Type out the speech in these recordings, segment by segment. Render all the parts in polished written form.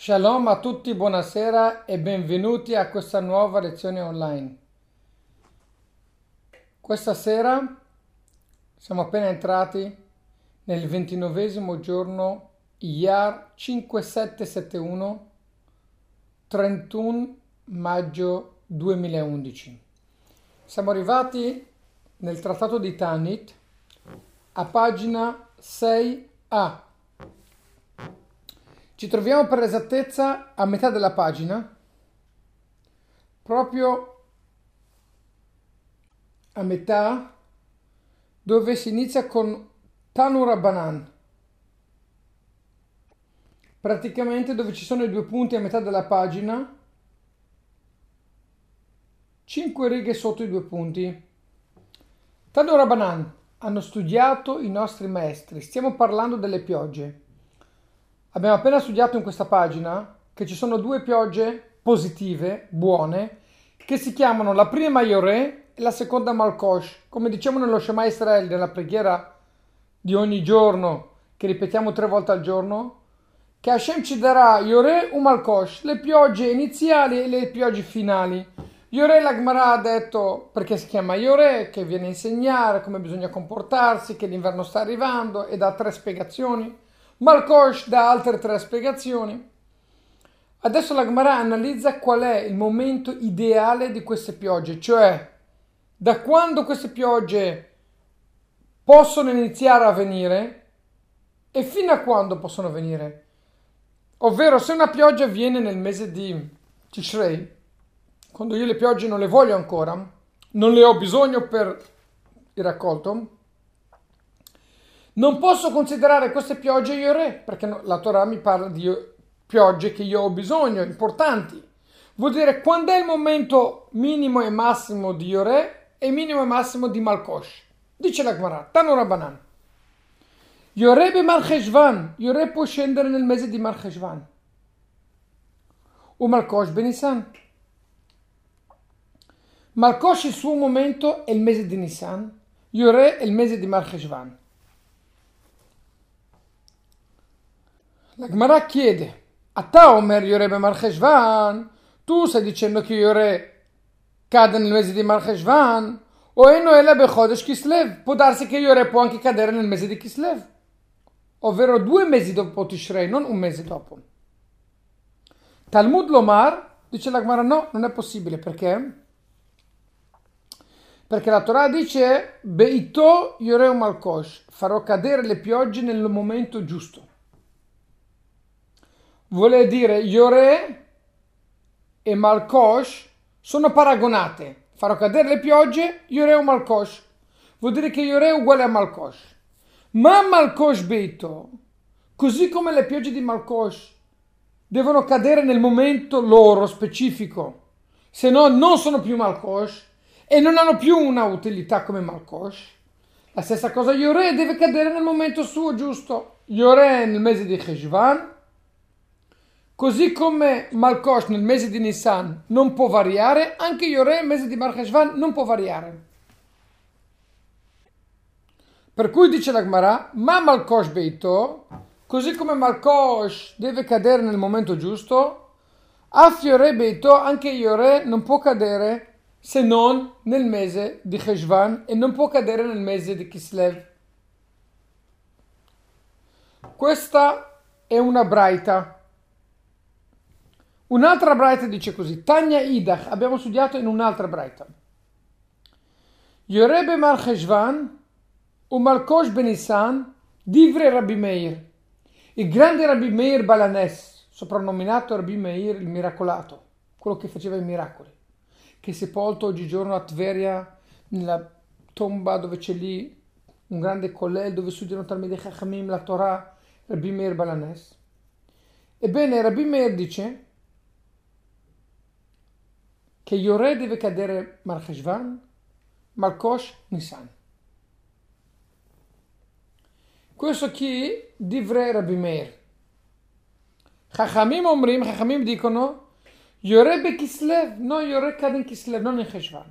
Shalom a tutti, buonasera e benvenuti a questa nuova lezione online. Questa sera siamo appena entrati nel 29esimo giorno Iyar 5771, 31 maggio 2011. Siamo arrivati nel trattato di Tanit a pagina 6a. Ci troviamo per l'esattezza a metà della pagina, proprio a metà dove si inizia con Tanu Rabbanan, praticamente dove ci sono i due punti a metà della pagina, 5 righe sotto i due punti. Tanu Rabbanan, hanno studiato i nostri maestri, stiamo parlando delle piogge. Abbiamo appena studiato in questa pagina che ci sono due piogge positive, buone, che si chiamano la prima Yoreh e la seconda Malkosh. Come diciamo nello Shema Israel, nella preghiera di ogni giorno, che ripetiamo 3 volte al giorno, che Hashem ci darà Yoreh o Malkosh, le piogge iniziali e le piogge finali. Yoreh la Gemara ha detto perché si chiama Yoreh, che viene a insegnare come bisogna comportarsi, che l'inverno sta arrivando e dà 3 spiegazioni. Malkosh dà altre 3 spiegazioni. Adesso la Gemara analizza qual è il momento ideale di queste piogge, cioè da quando queste piogge possono iniziare a venire e fino a quando possono venire. Ovvero, se una pioggia viene nel mese di Tishrei, quando io le piogge non le voglio ancora, non le ho bisogno per il raccolto, non posso considerare queste piogge Yoreh, perché la Torah mi parla di piogge che io ho bisogno, importanti. Vuol dire quando è il momento minimo e massimo di Yoreh e minimo e massimo di Malkosh. Dice la Gemara, Tanu Rabbanan. Yoreh be Mar Cheshvan, Yoreh può scendere nel mese di Mar Cheshvan. O Malkosh be Nisan. Malkosh il suo momento è il mese di Nisan, Yoreh è il mese di Mar Cheshvan. La Gemara chiede, Ata Omer Yoreh be Mar Cheshvan, tu stai dicendo che Yoreh cade nel mese di Mar Cheshvan, o Eno Ela be Chodesh Kislev, può darsi che Yoreh può anche cadere nel mese di Kislev, ovvero 2 mesi dopo Tishrei, non un mese dopo. Talmud Lomar, dice la Gemara, no, non è possibile, perché? Perché la Torah dice, Beito Yoreh Malkosh, farò cadere le piogge nel momento giusto. Vuole dire Yoreh e Malkosh sono paragonate. Farò cadere le piogge, Yoreh o Malkosh. Vuol dire che Yoreh è uguale a Malkosh. Ma Malkosh Beito, così come le piogge di Malkosh devono cadere nel momento loro specifico, se no non sono più Malkosh e non hanno più una utilità come Malkosh. La stessa cosa Yoreh deve cadere nel momento suo giusto. Yoreh nel mese di Cheshvan, così come Malkosh nel mese di Nisan non può variare, anche Yoreh nel mese di Mar Cheshvan non può variare. Per cui dice la Gemara, ma Malkosh Beito, così come Malkosh deve cadere nel momento giusto, Af Yoreh Beito, anche Yoreh non può cadere se non nel mese di Cheshvan e non può cadere nel mese di Kislev. Questa è una braita. Un'altra braita dice così, Tanya Idach, abbiamo studiato in un'altra braita. Yoreh be Mar Cheshvan u Malkosh be Nisan, Divre Rabbi Meir. Il grande Rabbi Meir Balanes, soprannominato Rabbi Meir il miracolato, quello che faceva i miracoli, che è sepolto oggigiorno a Tveria, nella tomba dove c'è lì un grande kollel dove studiano Talmidei Chachamim la Torah, Rabbi Meir Balanes. Ebbene, Rabbi Meir dice che Yoreh deve cadere Mar Cheshvan, Malkosh Nisan. Questo chi? Divrei Rabbi Meir. Chachamim dicono Yoreh be Kislev, no, Yoreh cade in Kislev, non in Cheshvan.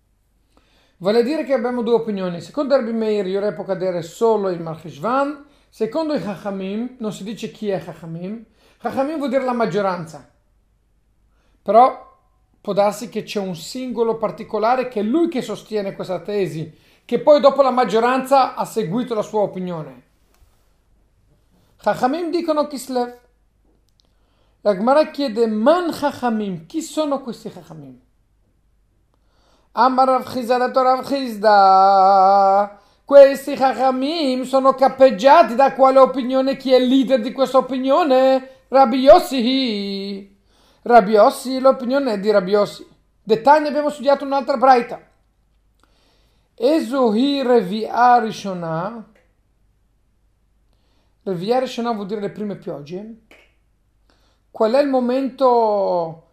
Vale dire che abbiamo due opinioni. Secondo Rabbi Meir, Yoreh può cadere solo in Mar Cheshvan, Secondo i Chachamim, non si dice chi è Chachamim, Chachamim vuol dire la maggioranza, però può darsi che c'è un singolo particolare che è lui che sostiene questa tesi, che poi dopo la maggioranza ha seguito la sua opinione. Chachamim dicono Kislev. La Gemara chiede Man Chachamim, chi sono questi Chachamim? Amar Rav Chizda, dato Rav Chizda, questi Chachamim sono cappeggiati da quale opinione? Chi è il leader di questa opinione? Rabbi Yossi. Rabbi Yossi, l'opinione è di Rabbi Yossi. Dettagli abbiamo studiato un'altra braita. Ezohi Revi'ah Rishonah. Revi'ah Rishonah vuol dire le prime piogge. Qual è il momento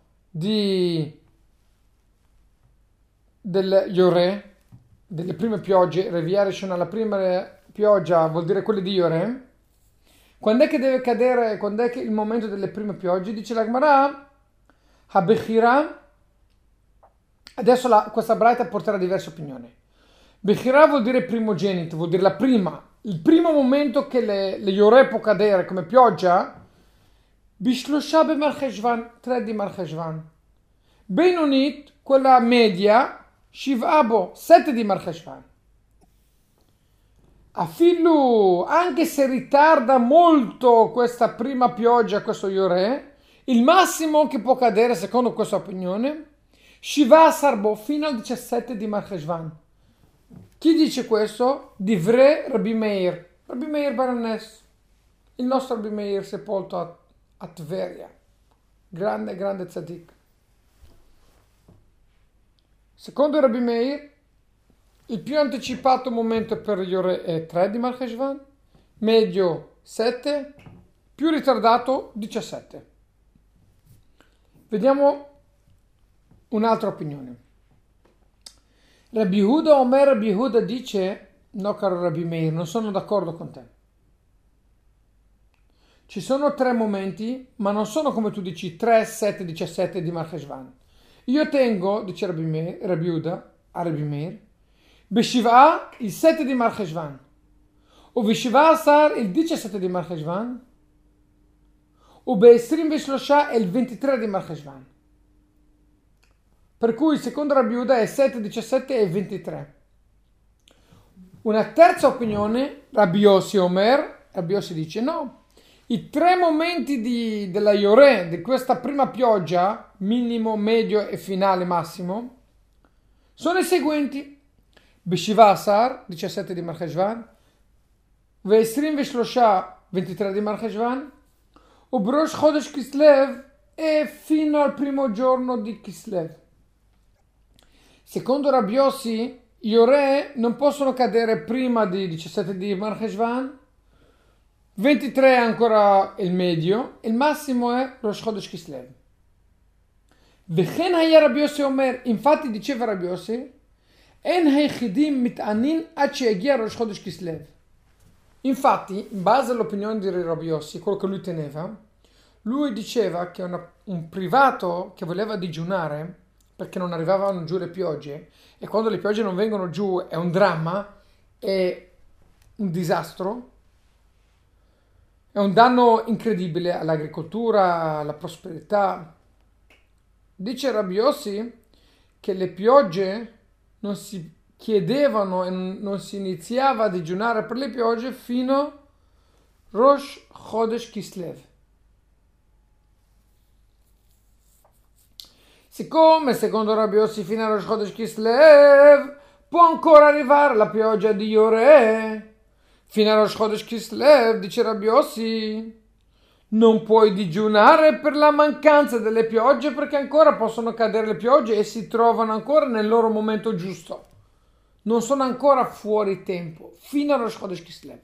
del Yoreh, delle prime piogge? Revi'ah Rishonah, la prima pioggia vuol dire quelle di Yoreh. Quando è che deve cadere, quando è che il momento delle prime piogge? Dice la Gemara, Habechira. Adesso questa braita porterà diverse opinioni. Bechira vuol dire primogenito, vuol dire il primo momento che le Yoreh può cadere come pioggia, Bishlosha b'Marcheshvan, 3 di Marcheshvan. Benonit, quella media, Shiv'abo, 7 di Marcheshvan. Afillu, anche se ritarda molto questa prima pioggia, questo Yoreh, il massimo che può cadere, secondo questa opinione, Shiva Sarbo, fino al 17 di Marcheshvan. Chi dice questo? Divrei Rabbi Meir Baranes, il nostro Rabbi Meir sepolto a Tveria, grande tzaddik. Secondo Rabbi Meir, il più anticipato momento per Yoreh è 3 di Marcheshvan, medio 7, più ritardato 17. Vediamo un'altra opinione. Rabbi Yehuda dice, no caro Rabbi Meir, non sono d'accordo con te. Ci sono 3 momenti, ma non sono come tu dici 3, 7, 17 di Marcheshvan. Io tengo, dice Rabbi Yehuda, a Rabbi Meir, Beshiv'a il 7 di Marcheshvan, o Beshiv'a Asar il 17 di Marcheshvan, o Be'esrim Beshlosha il 23 di Marcheshvan. Per cui secondo Rabbi Yehuda è 7, 17 e 23. Una terza opinione, Rabbi Yossi dice no, i 3 momenti della Yoreh, di questa prima pioggia, minimo, medio e finale massimo, sono i seguenti. Beshiv'a Asar, 17 di Marcheshvan, Ve'esrim Veshlosha, 23 di Marcheshvan, o Brosh Chodesh Kislev e fino al primo giorno di Kislev. Secondo Rabbi Yossi, Yoreh non possono cadere prima di 17 di Marcheshvan, 23 è ancora il medio, il massimo è Rosh Chodesh Kislev. Vechen haya Rabbi Yossi Omer, infatti diceva Rabbi Yossi, En hayichidim mit'anin ad sheyagia Rosh Chodesh Kislev. Infatti, in base all'opinione di Rabbi Yossi, quello che lui teneva, lui diceva che un privato che voleva digiunare perché non arrivavano giù le piogge, e quando le piogge non vengono giù è un dramma, è un disastro, è un danno incredibile all'agricoltura, alla prosperità. Dice Rabbi Yossi che le piogge non si chiedevano e non si iniziava a digiunare per le piogge fino a Rosh Chodesh Kislev. Siccome secondo Rabbi Yossi fino a Rosh Chodesh Kislev può ancora arrivare la pioggia di Yoreh, fino a Rosh Chodesh Kislev, dice Rabbi Yossi, non puoi digiunare per la mancanza delle piogge perché ancora possono cadere le piogge e si trovano ancora nel loro momento giusto. Non sono ancora fuori tempo, fino a Rosh Chodesh Kislev.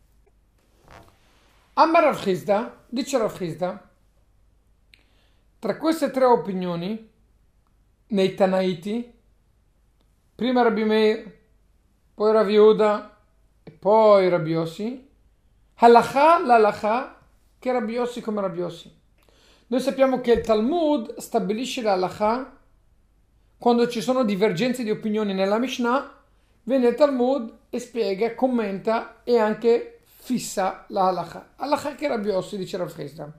Amar Rav Chizda, dice Rav Chizda, tra queste 3 opinioni, nei Tanaiti, prima Rabbi Meir, poi Rav Yehuda e poi Rabbi Yossi, l'halakha che Rabbi Yossi come Rabbi Yossi. Noi sappiamo che il Talmud stabilisce l'halakha quando ci sono divergenze di opinioni nella Mishnah, viene il Talmud e spiega, commenta e anche fissa la halakha. Halakha che Rabbi Yossi, dice Rav Chisda.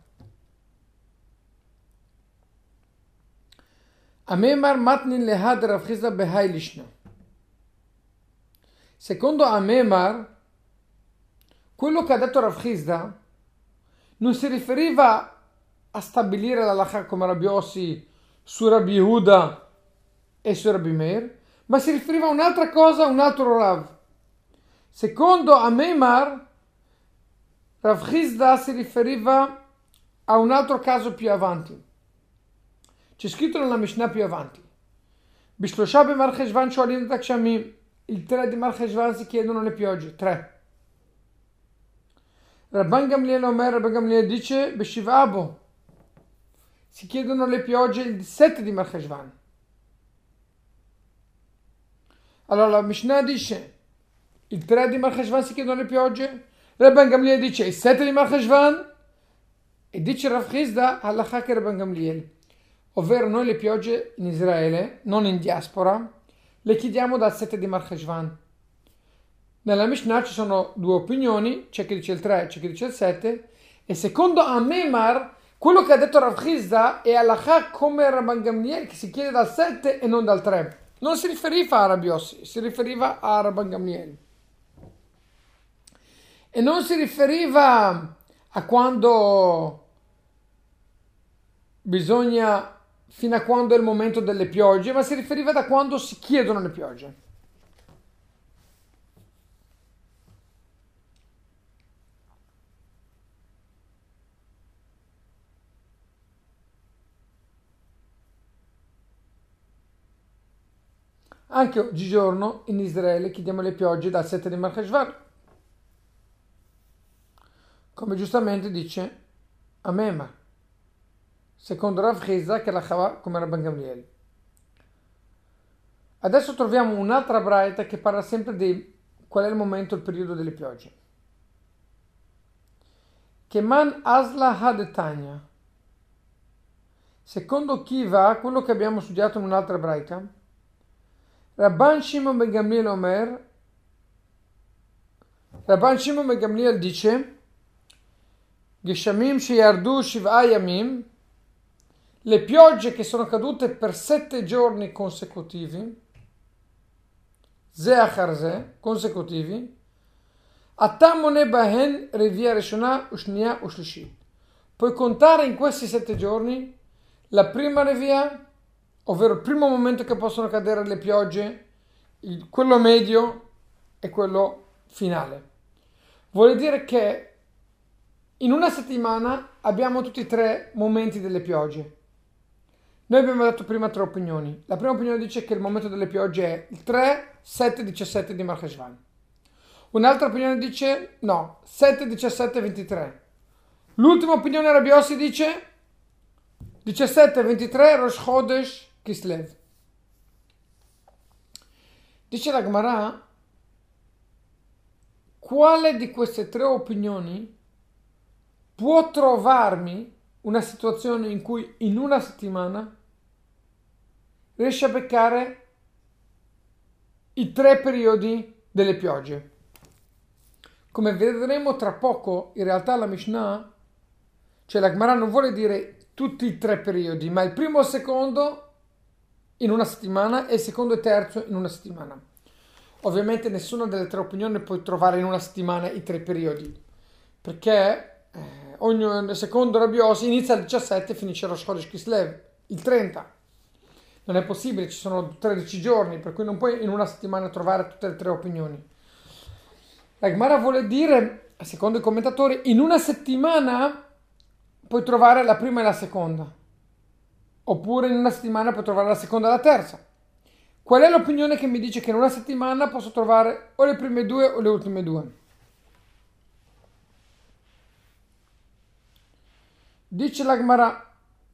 Amemar matnin lehad Rav Chisda behai lishna. Secondo Amemar, quello che ha detto Rav Chisda non si riferiva a stabilire la halakha come Rabbi Yossi su Rabbi Yehuda e su Rabbi Meir, ma si riferiva a un'altra cosa, a un altro Rav. Secondo Amemar, Rav Chisda si riferiva a un altro caso più avanti. C'è scritto nella Mishnah più avanti. Bishlosha b'mar Cheshvan sholim et hakshamim. Il 3 di Mar Cheshvan si chiedono le piogge. 3. Rabban Gamliel Omer, Rabban Gamliel dice B'Shiva Bo. Si chiedono le piogge il 7 di Mar Cheshvan. Allora la Mishnah dice il 3 di Mar Cheshvan si chiedono le piogge. Rabban Gamliel dice il 7 di Mar Cheshvan. E dice Rav Chisda halakha che Rabban Gamliel. Ovvero noi le piogge in Israele, non in diaspora, le chiediamo dal 7 di Mar Cheshvan. Nella Mishnah ci sono due opinioni, c'è chi dice il 3, c'è chi dice il 7, e secondo Amemar, quello che ha detto Rav Chisda è halakha come Rabban Gamliel, che si chiede dal 7 e non dal 3. Non si riferiva a Rabbi Yossi, si riferiva a Rabban Gamliel. E non si riferiva a quando bisogna, fino a quando è il momento delle piogge, ma si riferiva da quando si chiedono le piogge. Anche oggigiorno in Israele chiediamo le piogge dal 7 di Mar Cheshvan, come giustamente dice Amemar, secondo Rav Chisda che la Chava come Rabban Gamliel. Adesso troviamo un'altra braita che parla sempre di qual è il momento, il periodo delle piogge. Keman Asla Hadetanya. Secondo Kiva, quello che abbiamo studiato in un'altra braita, Rabban Shimon ben Gamliel Omer, Rabban Shimon ben Gamliel dice Geshamim sheyardu shiv'a yamim, le piogge che sono cadute per 7 giorni consecutivi, ze achar ze, consecutivi, atamone bahen revia reshona ushnia ushlishit. Puoi contare in questi 7 giorni la prima revia, ovvero il primo momento che possono cadere le piogge, quello medio e quello finale. Vuol dire che in una settimana abbiamo tutti e 3 momenti delle piogge. Noi abbiamo dato prima 3 opinioni. La prima opinione dice che il momento delle piogge è il 3, 7, 17 di Mar Cheshvan. Un'altra opinione dice no, 7, 17, 23. L'ultima opinione Rabbi Yossi dice 17, 23 Rosh Chodesh Kislev. Dice la Gemara, quale di queste 3 opinioni può trovarmi una situazione in cui in una settimana riesce a beccare i 3 periodi delle piogge? Come vedremo tra poco, in realtà la Mishnah, cioè la Gemara non vuole dire tutti i 3 periodi, ma il primo e il secondo in una settimana e il secondo e terzo in una settimana. Ovviamente nessuna delle 3 opinioni puoi trovare in una settimana i 3 periodi, perché secondo Rabbi Yossi inizia il 17 e finisce Rosh Chodesh Kislev, il 30. Non è possibile, ci sono 13 giorni, per cui non puoi in una settimana trovare tutte le 3 opinioni. La Gemara vuole dire, secondo i commentatori, in una settimana puoi trovare la prima e la seconda, oppure in una settimana puoi trovare la seconda e la terza. Qual è l'opinione che mi dice che in una settimana posso trovare o le prime 2 o le ultime 2? Dice la Gemara,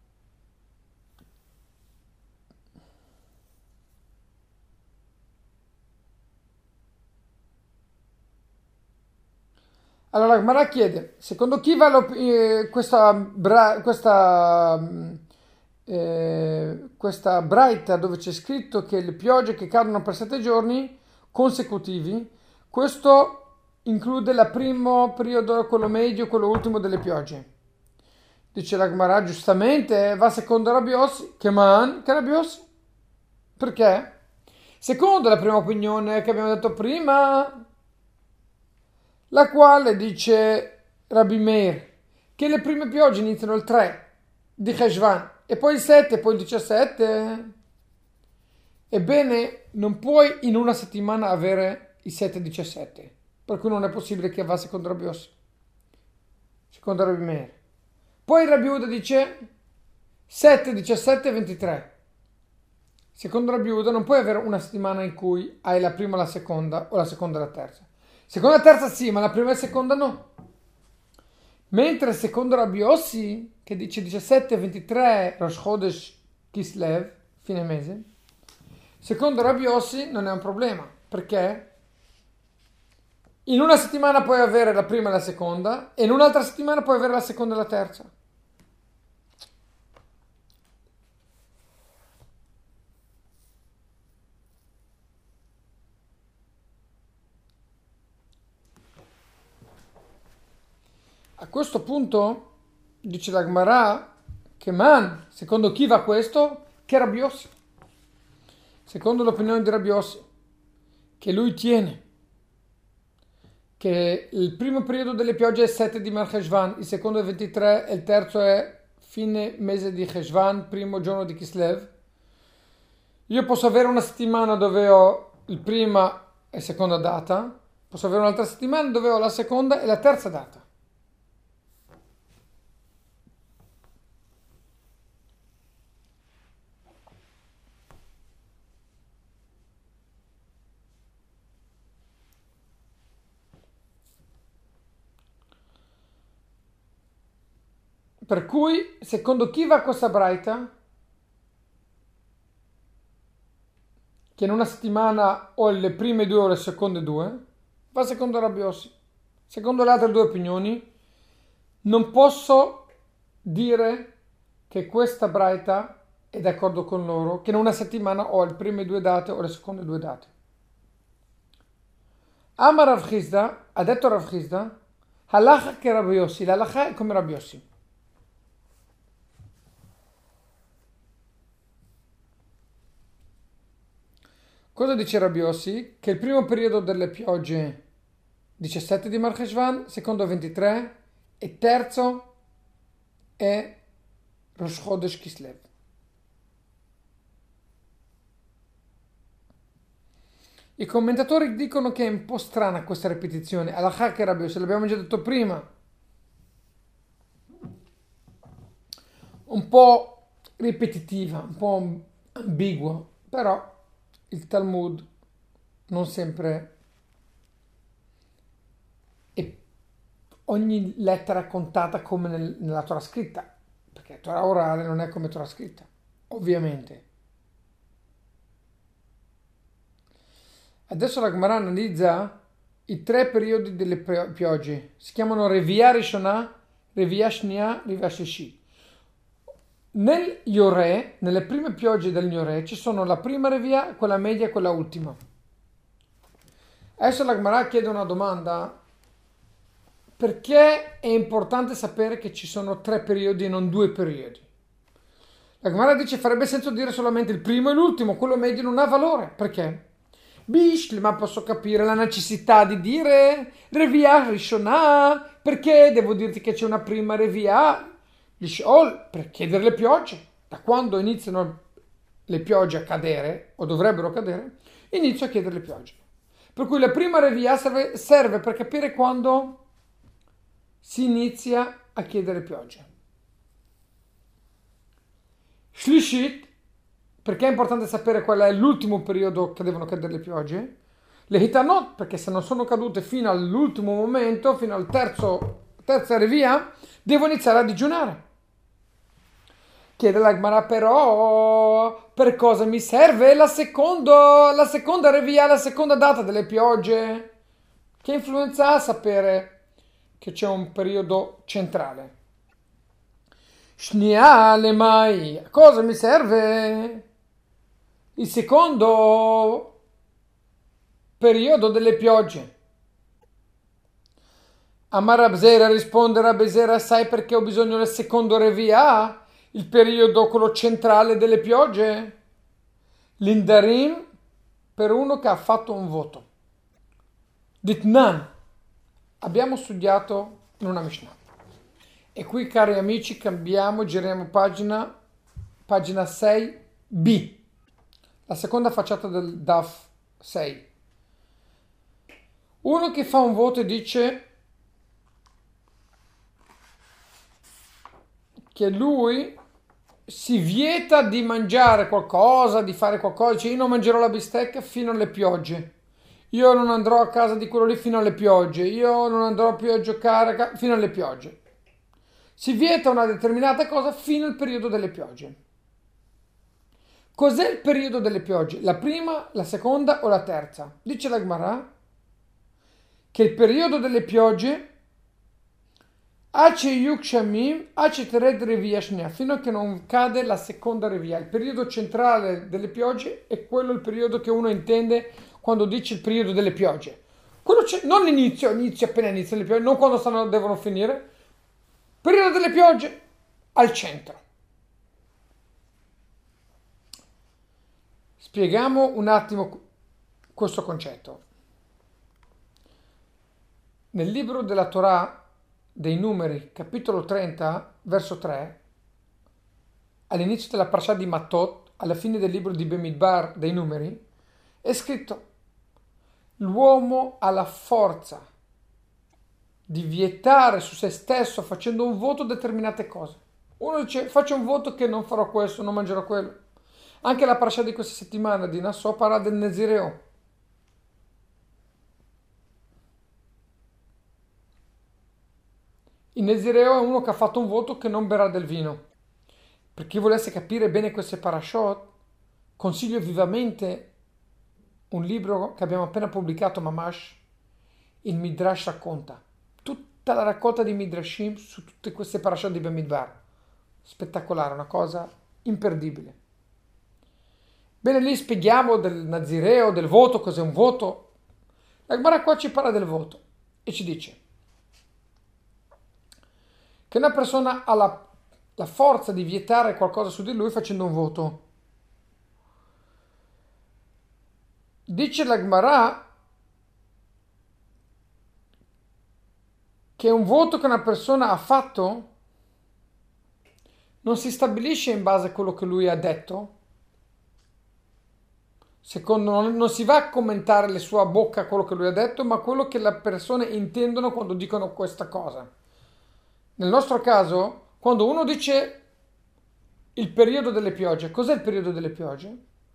allora la Gemara chiede, secondo chi va questa braita dove c'è scritto che le piogge che cadono per 7 giorni consecutivi, questo include il primo periodo, quello medio e quello ultimo delle piogge. Dice la Gemara, giustamente, va secondo Rabbi Yossi, che Rabbi Yossi. Perché? Secondo la prima opinione che abbiamo detto prima, la quale dice Rabbi Meir, che le prime piogge iniziano il 3 di Cheshvan e poi il 7 e poi il 17. Ebbene, non puoi in una settimana avere i 7 e 17, per cui non è possibile che va secondo Rabbi Yossi, secondo Rabbi Meir. Poi Rabbi Uda dice 7, 17 e 23. Secondo Rabbi Uda non puoi avere una settimana in cui hai la prima e la seconda o la seconda e la terza. Seconda e terza sì, ma la prima e la seconda no. Mentre secondo Rabbi Yossi, che dice 17 e 23 Rosh Chodesh Kislev, fine mese, secondo Rabbi Yossi non è un problema, perché in una settimana puoi avere la prima e la seconda e in un'altra settimana puoi avere la seconda e la terza. A questo punto dice la Gemara che secondo chi va questo? Che Rabbi Yossi. Secondo l'opinione di Rabbi Yossi, che lui tiene che il primo periodo delle piogge è 7 di Mar Cheshvan, il secondo è 23 e il terzo è fine mese di Cheshvan, primo giorno di Kislev. Io posso avere una settimana dove ho il prima e seconda data, posso avere un'altra settimana dove ho la seconda e la terza data. Per cui, secondo chi va questa braita, che in una settimana ho le prime due o le seconde due, va secondo Rabbi Yossi. Secondo le altre due opinioni, non posso dire che questa braita è d'accordo con loro, che in una settimana ho le prime due date o le seconde due date. Amar Rav Chisda, ha detto Rav Chisda, halacha che Rabbi Yossi, l'halacha è come Rabbi Yossi. Cosa dice Rabbi Yossi? Che il primo periodo delle piogge 17 di Mar Cheshvan, secondo 23 e terzo è Rosh Chodesh Kislev. I commentatori dicono che è un po' strana questa ripetizione. Halakha che Rabbi Yossi, l'abbiamo già detto prima. Un po' ripetitiva, un po' ambigua, però il Talmud non sempre è ogni lettera è contata come nella Torah scritta, perché Torah orale non è come Torah scritta, ovviamente. Adesso la Gemara analizza i tre periodi delle piogge. Si chiamano Revia Rishonah, Revia Shnia, Revia Sheshi. Nel Yoreh, nelle prime piogge del Yoreh, ci sono la prima Revia, quella media e quella ultima. Adesso la Gemara chiede una domanda. Perché è importante sapere che ci sono tre periodi e non due periodi? La Gemara dice farebbe senso dire solamente il primo e l'ultimo, quello medio non ha valore. Perché? Ma posso capire la necessità di dire Revia Rishonah, perché devo dirti che c'è una prima Revia Lishol, per chiedere le piogge. Da quando iniziano le piogge a cadere, o dovrebbero cadere, inizio a chiedere le piogge. Per cui la prima Revia serve per capire quando si inizia a chiedere piogge. Shlishit, perché è importante sapere qual è l'ultimo periodo che devono cadere le piogge. Le hitanot, perché se non sono cadute fino all'ultimo momento, fino al terza Revia, devo iniziare a digiunare. Chiede la Gemara, però per cosa mi serve la seconda Revia, la seconda data delle piogge? Che influenza ha a sapere che c'è un periodo centrale? Shnia le mai, a cosa mi serve il secondo periodo delle piogge? Amar Abzera rispondere a Besera, sai perché ho bisogno del secondo revia? Il periodo, quello centrale delle piogge? L'indarim per uno che ha fatto un voto. Ditnan, abbiamo studiato in una Mishnah. E qui, cari amici, cambiamo, giriamo pagina 6b, la seconda facciata del DAF 6. Uno che fa un voto e dice che lui si vieta di mangiare qualcosa, di fare qualcosa, dice io non mangerò la bistecca fino alle piogge, io non andrò a casa di quello lì fino alle piogge, io non andrò più a giocare fino alle piogge. Si vieta una determinata cosa fino al periodo delle piogge. Cos'è il periodo delle piogge? La prima, la seconda o la terza? Dice la Gemara che il periodo delle piogge fino a che non cade la seconda revia. Il periodo centrale delle piogge è quello, il periodo che uno intende quando dice il periodo delle piogge. Non l'inizio, appena iniziano le piogge, non quando devono finire. Periodo delle piogge al centro. Spieghiamo un attimo questo concetto. Nel libro della Torah dei Numeri, capitolo 30, verso 3, all'inizio della parasha di Matot, alla fine del libro di Bemidbar dei Numeri, è scritto: l'uomo ha la forza di vietare su se stesso, facendo un voto, determinate cose. Uno dice: faccio un voto che non farò questo, non mangerò quello. Anche la parasha di questa settimana di Nassò parla del Nezireo. Il Nezireo è uno che ha fatto un voto che non berrà del vino. Per chi volesse capire bene queste parashot, consiglio vivamente un libro che abbiamo appena pubblicato, Mamash, il Midrash racconta. Tutta la raccolta di Midrashim su tutte queste parashot di Bamidbar. Spettacolare, una cosa imperdibile. Bene, lì spieghiamo del Nazireo, del voto, cos'è un voto. La Gemara qua ci parla del voto e ci dice che una persona ha la forza di vietare qualcosa su di lui facendo un voto. Dice la Gemara che un voto che una persona ha fatto non si stabilisce in base a quello che lui ha detto. Non si va a commentare le sue bocca quello che lui ha detto, ma quello che le persone intendono quando dicono questa cosa. Nel nostro caso, quando uno dice il periodo delle piogge, cos'è il periodo delle piogge?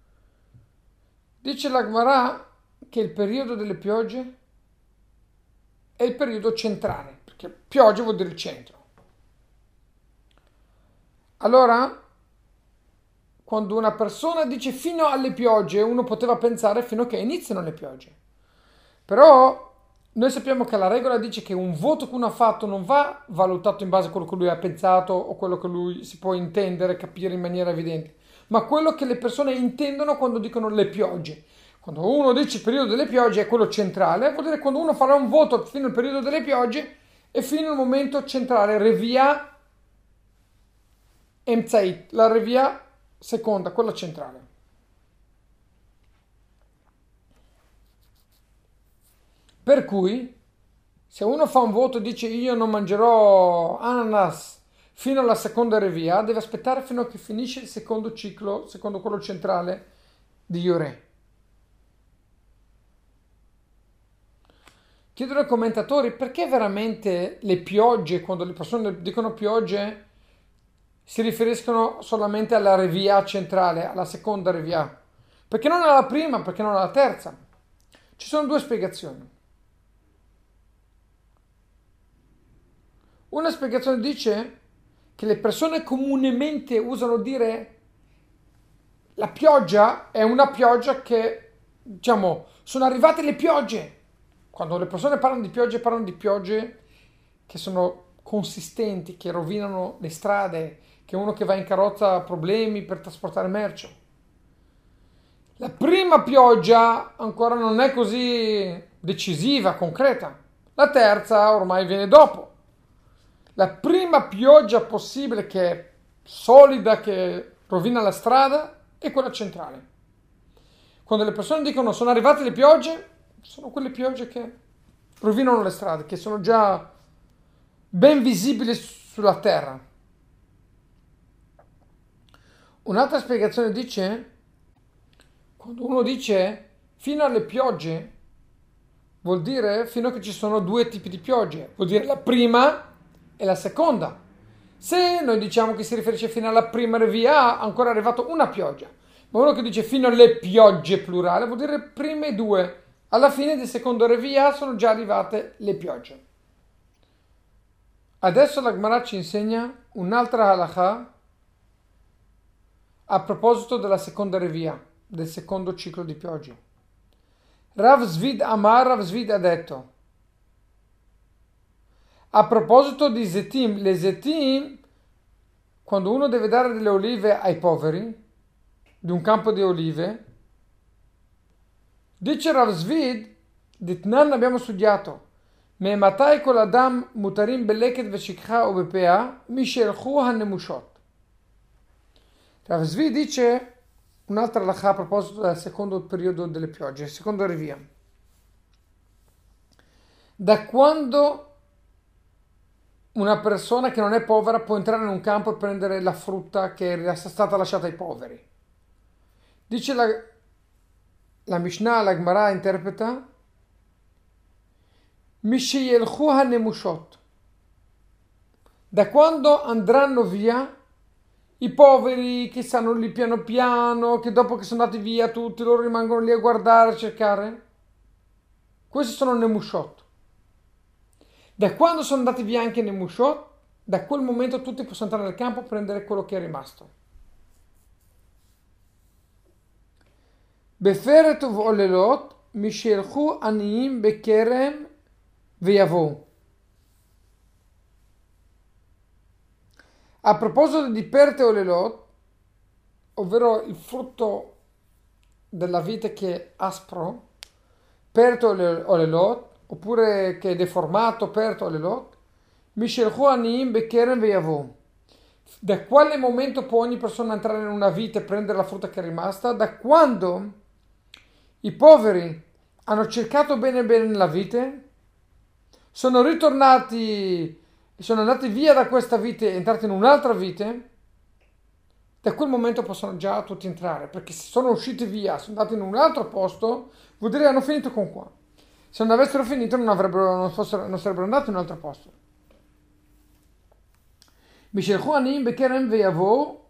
Dice la Gemara che il periodo delle piogge è il periodo centrale, perché pioggia vuol dire il centro. Allora, quando una persona dice fino alle piogge, uno poteva pensare fino a che iniziano le piogge. Però noi sappiamo che la regola dice che un voto che uno ha fatto non va valutato in base a quello che lui ha pensato o quello che lui si può intendere, capire in maniera evidente, ma quello che le persone intendono quando dicono le piogge. Quando uno dice il periodo delle piogge è quello centrale, vuol dire quando uno farà un voto fino al periodo delle piogge e fino al momento centrale, revia emzait, la revia seconda, quella centrale. Per cui, se uno fa un voto e dice io non mangerò ananas fino alla seconda revia, deve aspettare fino a che finisce il secondo ciclo, secondo quello centrale di Yoreh. Chiedono ai commentatori perché veramente le piogge, quando le persone dicono piogge, si riferiscono solamente alla revia centrale, alla seconda revia. Perché non alla prima, perché non alla terza? Ci sono due spiegazioni. Una spiegazione dice che le persone comunemente usano dire la pioggia è una pioggia che, diciamo, sono arrivate le piogge. Quando le persone parlano di piogge che sono consistenti, che rovinano le strade, che uno che va in carrozza ha problemi per trasportare merce. La prima pioggia ancora non è così decisiva, concreta. La terza ormai viene dopo. La prima pioggia possibile che è solida, che rovina la strada, è quella centrale. Quando le persone dicono sono arrivate le piogge, sono quelle piogge che rovinano le strade, che sono già ben visibili sulla terra. Un'altra spiegazione dice, quando uno dice fino alle piogge, vuol dire fino a che ci sono due tipi di piogge, vuol dire la prima e la seconda. Se noi diciamo che si riferisce fino alla prima revia, ancora è arrivato una pioggia. Ma uno che dice fino alle piogge plurale vuol dire prime due. Alla fine del secondo revia sono già arrivate le piogge. Adesso la Gemara ci insegna un'altra halakha a proposito della seconda revia, del secondo ciclo di piogge. Rav Zvid Amar, Rav Zvid ha detto, a proposito di Zetim, le Zetim, quando uno deve dare delle olive ai poveri, di un campo di olive, dice Rav Zvid, Ditnan abbiamo studiato, me matai kol adam mutarim beleket veshikha o bepea, mishelchu hanemushot. Rav Zvid dice un'altra halakha a proposito del secondo periodo delle piogge, secondo revia. Da quando una persona che non è povera può entrare in un campo e prendere la frutta che è stata lasciata ai poveri? Dice la Mishnah, la Gemara interpreta, Mishiyelchu hanemushot. Da quando andranno via i poveri che stanno lì piano piano, che dopo che sono andati via tutti loro rimangono lì a guardare, a cercare. Questi sono nemushot. Da quando sono andati via anche i nemushot, da quel momento tutti possono entrare nel campo e prendere quello che è rimasto. Beferet uvolelot mishelchu aniyim bekerem veyavo. A proposito di perte olelot, ovvero il frutto della vite che è aspro, perte olelot, oppure che è deformato, perte olelot, mishelchu aniyim bekerem veyavo. Da quale momento può ogni persona entrare in una vite e prendere la frutta che è rimasta? Da quando i poveri hanno cercato bene bene nella vite, sono ritornati, sono andati via da questa vite e entrati in un'altra vite, da quel momento possono già tutti entrare, perché se sono usciti via, sono andati in un altro posto, vuol dire che hanno finito con qua. Se non avessero finito non sarebbero andati in un altro posto. Mishelchu aniyim bekerem veyavo.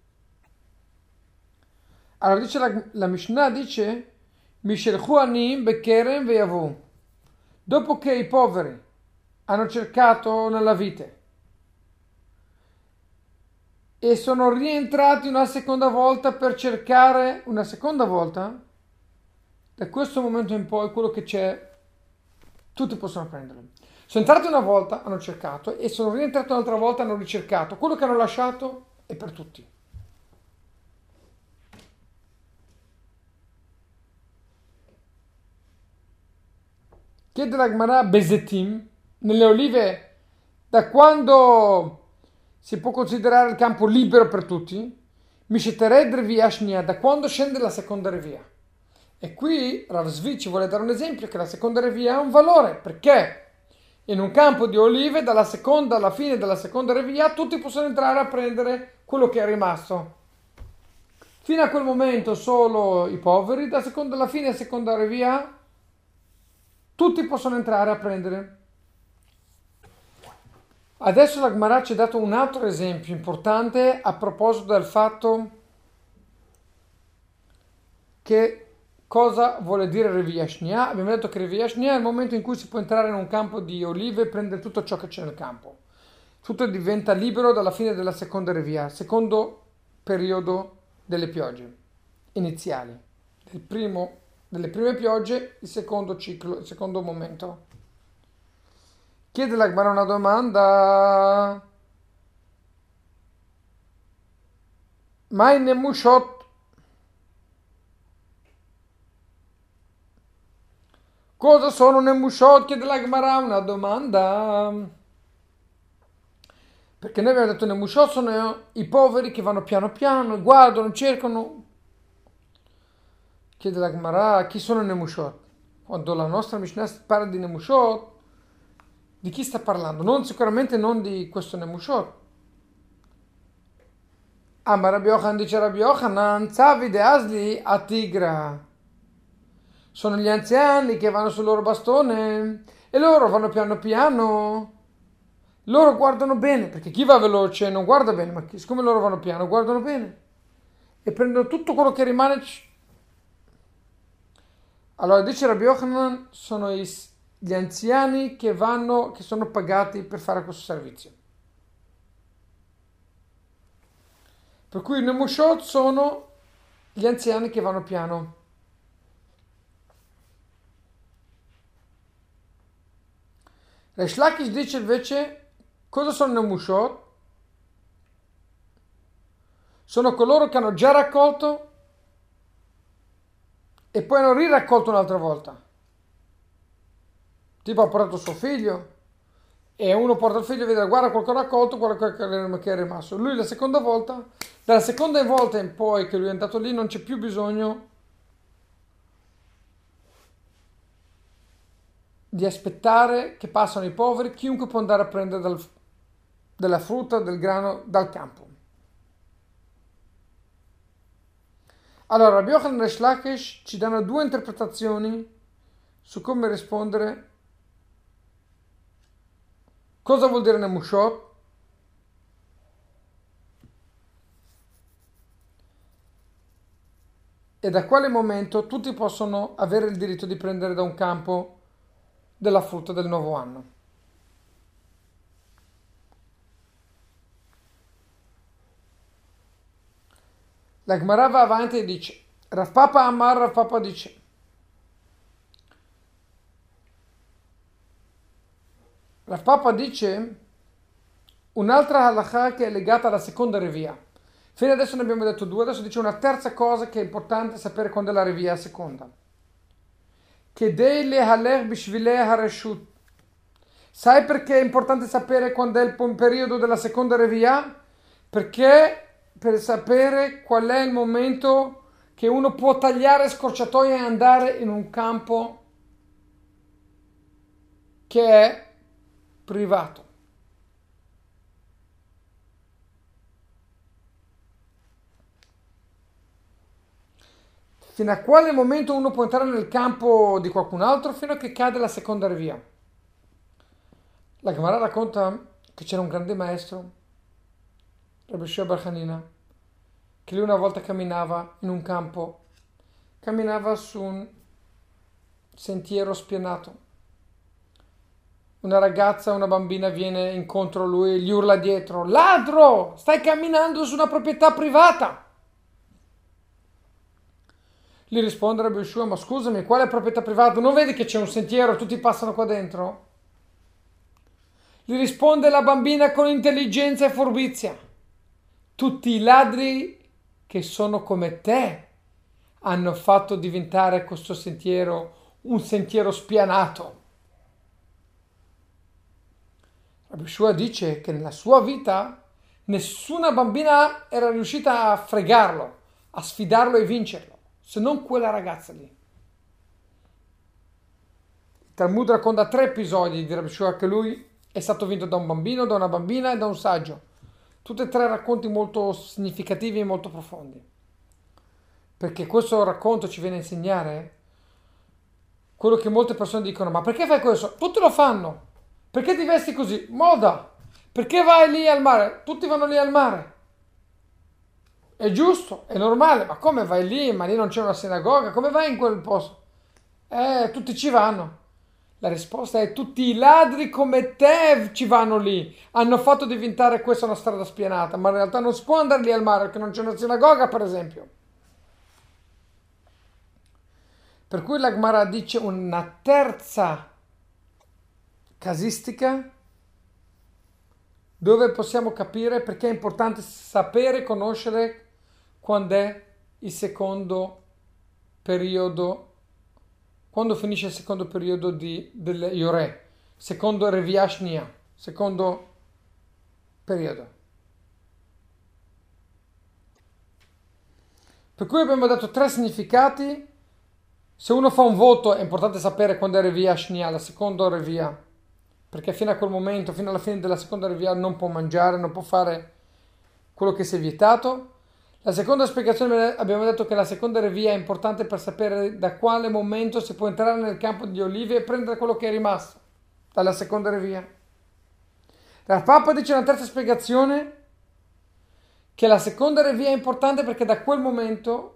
Allora dice la Mishnah, dice Mishelchu aniyim bekerem veyavo. Dopo che i poveri hanno cercato nella vite e sono rientrati una seconda volta per cercare una seconda volta, da questo momento in poi quello che c'è tutti possono prenderlo. Sono entrati una volta, hanno cercato, e sono rientrati un'altra volta, hanno ricercato. Quello che hanno lasciato è per tutti. Chiede la Gemara Bezetim, nelle olive, da quando si può considerare il campo libero per tutti? Mishetered revia shnia, da quando scende la seconda revia? E qui Rav Zvi ci vuole dare un esempio che la seconda revia ha un valore, perché in un campo di olive dalla seconda alla fine della seconda revia tutti possono entrare a prendere quello che è rimasto. Fino a quel momento solo i poveri, da seconda alla fine della seconda revia tutti possono entrare a prendere. Adesso la Gemara ci ha dato un altro esempio importante a proposito del fatto che cosa vuole dire Revia Shnia. Abbiamo detto che Revia Shnia è il momento in cui si può entrare in un campo di olive e prendere tutto ciò che c'è nel campo. Tutto diventa libero dalla fine della seconda Revia, secondo periodo delle piogge iniziali. Delle prime piogge, il secondo ciclo, il secondo momento. Chiede la Gemara una domanda. Mai nemushot. Cosa sono Nemushot? Chiede la Gemara, una domanda. Perché noi abbiamo detto Nemushot sono i poveri che vanno piano piano, guardano, cercano. Chiede la Gemara, chi sono Nemushot? Quando la nostra Mishnah parla di Nemushot, di chi sta parlando? Sicuramente non di questo Nemushot. Ma Rabbi Yochanan dice Rabbi Yochanan, Zavi de Asli a Tigra. Sono gli anziani che vanno sul loro bastone e loro vanno piano piano. Loro guardano bene, perché chi va veloce non guarda bene, ma siccome loro vanno piano, guardano bene. E prendono tutto quello che rimane. Allora dice Rabbi Yochanan, sono gli anziani che sono pagati per fare questo servizio. Per cui i Nemushot sono gli anziani che vanno piano. Reish Lakish dice invece, cosa sono Nemushot? Sono coloro che hanno già raccolto e poi hanno riraccolto un'altra volta. Tipo ha portato suo figlio e uno porta il figlio e vede, guarda quello che ho raccolto, guarda quello che è rimasto. Lui la seconda volta, dalla seconda volta in poi che lui è andato lì non c'è più bisogno di aspettare che passano i poveri, chiunque può andare a prendere della frutta, del grano dal campo. Allora, Rabbi Yochanan e Reish Lakish ci danno due interpretazioni su come rispondere. Cosa vuol dire Nemushot? E da quale momento tutti possono avere il diritto di prendere da un campo della frutta del nuovo anno. La Gemara va avanti e dice, Rav Papa Amar, Rav Papa dice, Rav Papa dice un'altra halakha che è legata alla seconda revia. Fino adesso ne abbiamo detto due, adesso dice una terza cosa che è importante sapere quando è la revia seconda. Kedei lehaler bishvilei hareshut. Sai perché è importante sapere quando è il periodo della seconda revia? Perché per sapere qual è il momento che uno può tagliare scorciatoie e andare in un campo che è privato. Fino a quale momento uno può entrare nel campo di qualcun altro? Fino a che cade la seconda revia. La Gemara racconta che c'era un grande maestro, Rabbi Shua bar Hanina, che lui una volta camminava in un campo, camminava su un sentiero spianato. Una ragazza, una bambina viene incontro a lui e gli urla dietro, ladro, stai camminando su una proprietà privata. Gli risponde Rabbi Shua, ma scusami, quale proprietà privata? Non vedi che c'è un sentiero e tutti passano qua dentro? Gli risponde la bambina con intelligenza e furbizia. Tutti i ladri che sono come te hanno fatto diventare questo sentiero un sentiero spianato. Rabbi Shua dice che nella sua vita nessuna bambina era riuscita a fregarlo, a sfidarlo e vincerlo, se non quella ragazza lì. Il Talmud racconta 3 episodi di Rabbi Shua che lui è stato vinto da un bambino, da una bambina e da un saggio. Tutti e 3 racconti molto significativi e molto profondi. Perché questo racconto ci viene a insegnare quello che molte persone dicono, ma perché fai questo? Tutti lo fanno. Perché ti vesti così? Moda. Perché vai lì al mare? Tutti vanno lì al mare. È giusto, è normale, ma come vai lì? Ma lì non c'è una sinagoga, come vai in quel posto? Tutti ci vanno. La risposta è tutti i ladri come te ci vanno lì. Hanno fatto diventare questa una strada spianata, ma in realtà non si può andare lì al mare perché non c'è una sinagoga, per esempio. Per cui la Gemara dice una terza casistica dove possiamo capire perché è importante sapere, conoscere quando è il secondo periodo quando finisce il secondo periodo del Yoreh, secondo Reviah Shnia, secondo periodo. Per cui abbiamo dato tre significati. Se uno fa un voto è importante sapere quando è Reviah Shnia, la seconda Reviah, perché fino a quel momento, fino alla fine della seconda Reviah non può mangiare, non può fare quello che si è vietato. La seconda spiegazione abbiamo detto che la seconda Reviah è importante per sapere da quale momento si può entrare nel campo di olive e prendere quello che è rimasto dalla seconda Reviah. La Papa dice una terza spiegazione che la seconda Reviah è importante perché da quel momento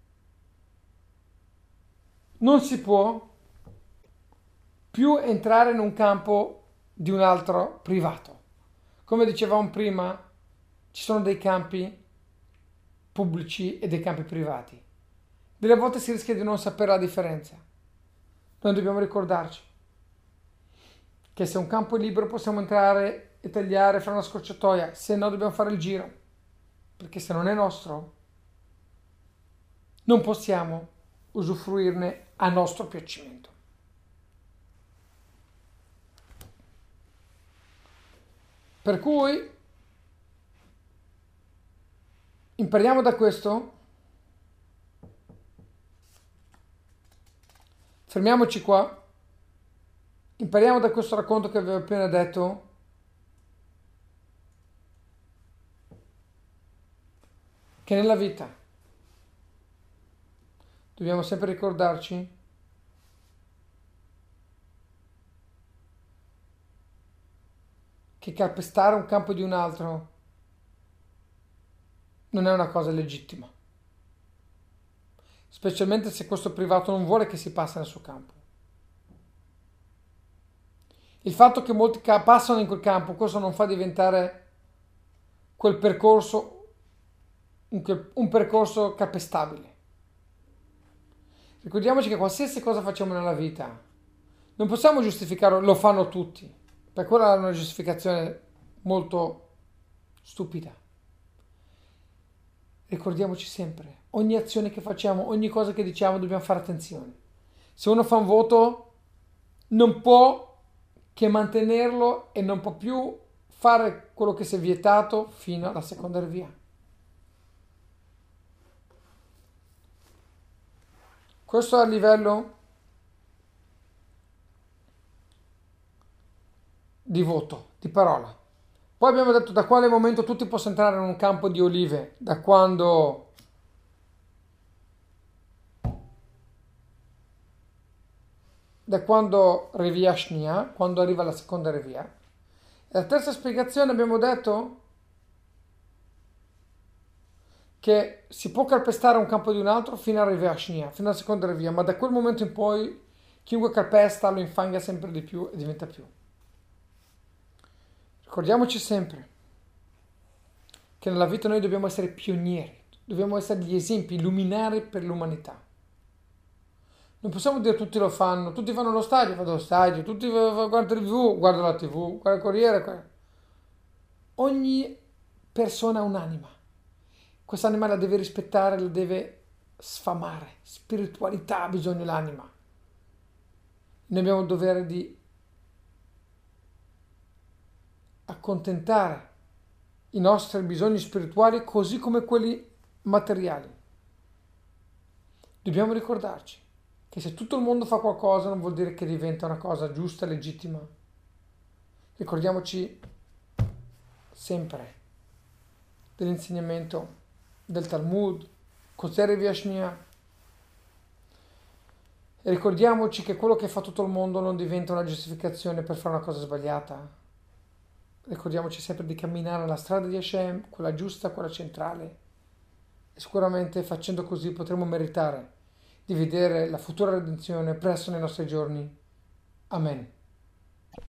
non si può più entrare in un campo di un altro privato. Come dicevamo prima, ci sono dei campi pubblici e dei campi privati. Delle volte si rischia di non sapere la differenza. Noi dobbiamo ricordarci che se un campo è libero possiamo entrare e tagliare, fare una scorciatoia, se no dobbiamo fare il giro, perché se non è nostro non possiamo usufruirne a nostro piacimento. Per cui impariamo da questo, fermiamoci qua, impariamo da questo racconto che avevo appena detto che nella vita dobbiamo sempre ricordarci che calpestare un campo di un altro non è una cosa legittima, specialmente se questo privato non vuole che si passi nel suo campo. Il fatto che molti passano in quel campo, questo non fa diventare quel percorso un percorso calpestabile. Ricordiamoci che qualsiasi cosa facciamo nella vita non possiamo giustificarlo, lo fanno tutti, per quella è una giustificazione molto stupida. Ricordiamoci sempre, ogni azione che facciamo, ogni cosa che diciamo dobbiamo fare attenzione. Se uno fa un voto non può che mantenerlo e non può più fare quello che si è vietato fino alla seconda Reviah. Questo è a livello di voto, di parola. Poi abbiamo detto da quale momento tutti possono entrare in un campo di olive, da quando Reviah Shnia, quando arriva la seconda Reviah. E la terza spiegazione abbiamo detto che si può calpestare un campo di un altro fino a Reviah Shnia, fino alla seconda Reviah, ma da quel momento in poi chiunque calpesta lo infanga sempre di più e diventa più. Ricordiamoci sempre che nella vita noi dobbiamo essere pionieri, dobbiamo essere gli esempi, luminari per l'umanità. Non possiamo dire tutti lo fanno, tutti vanno allo stadio, vado allo stadio, tutti guardano la TV, guardo la TV, guardo il Corriere. Ogni persona ha un'anima. Quest'anima la deve rispettare, la deve sfamare. Spiritualità ha bisogno l'anima. Noi abbiamo il dovere di accontentare i nostri bisogni spirituali così come quelli materiali. Dobbiamo ricordarci che se tutto il mondo fa qualcosa non vuol dire che diventa una cosa giusta e legittima. Ricordiamoci sempre dell'insegnamento del Talmud, cos'è Reviah Shnia. E ricordiamoci che quello che fa tutto il mondo non diventa una giustificazione per fare una cosa sbagliata. Ricordiamoci sempre di camminare alla strada di Hashem, quella giusta, quella centrale. E sicuramente facendo così potremo meritare di vedere la futura redenzione presto nei nostri giorni. Amen.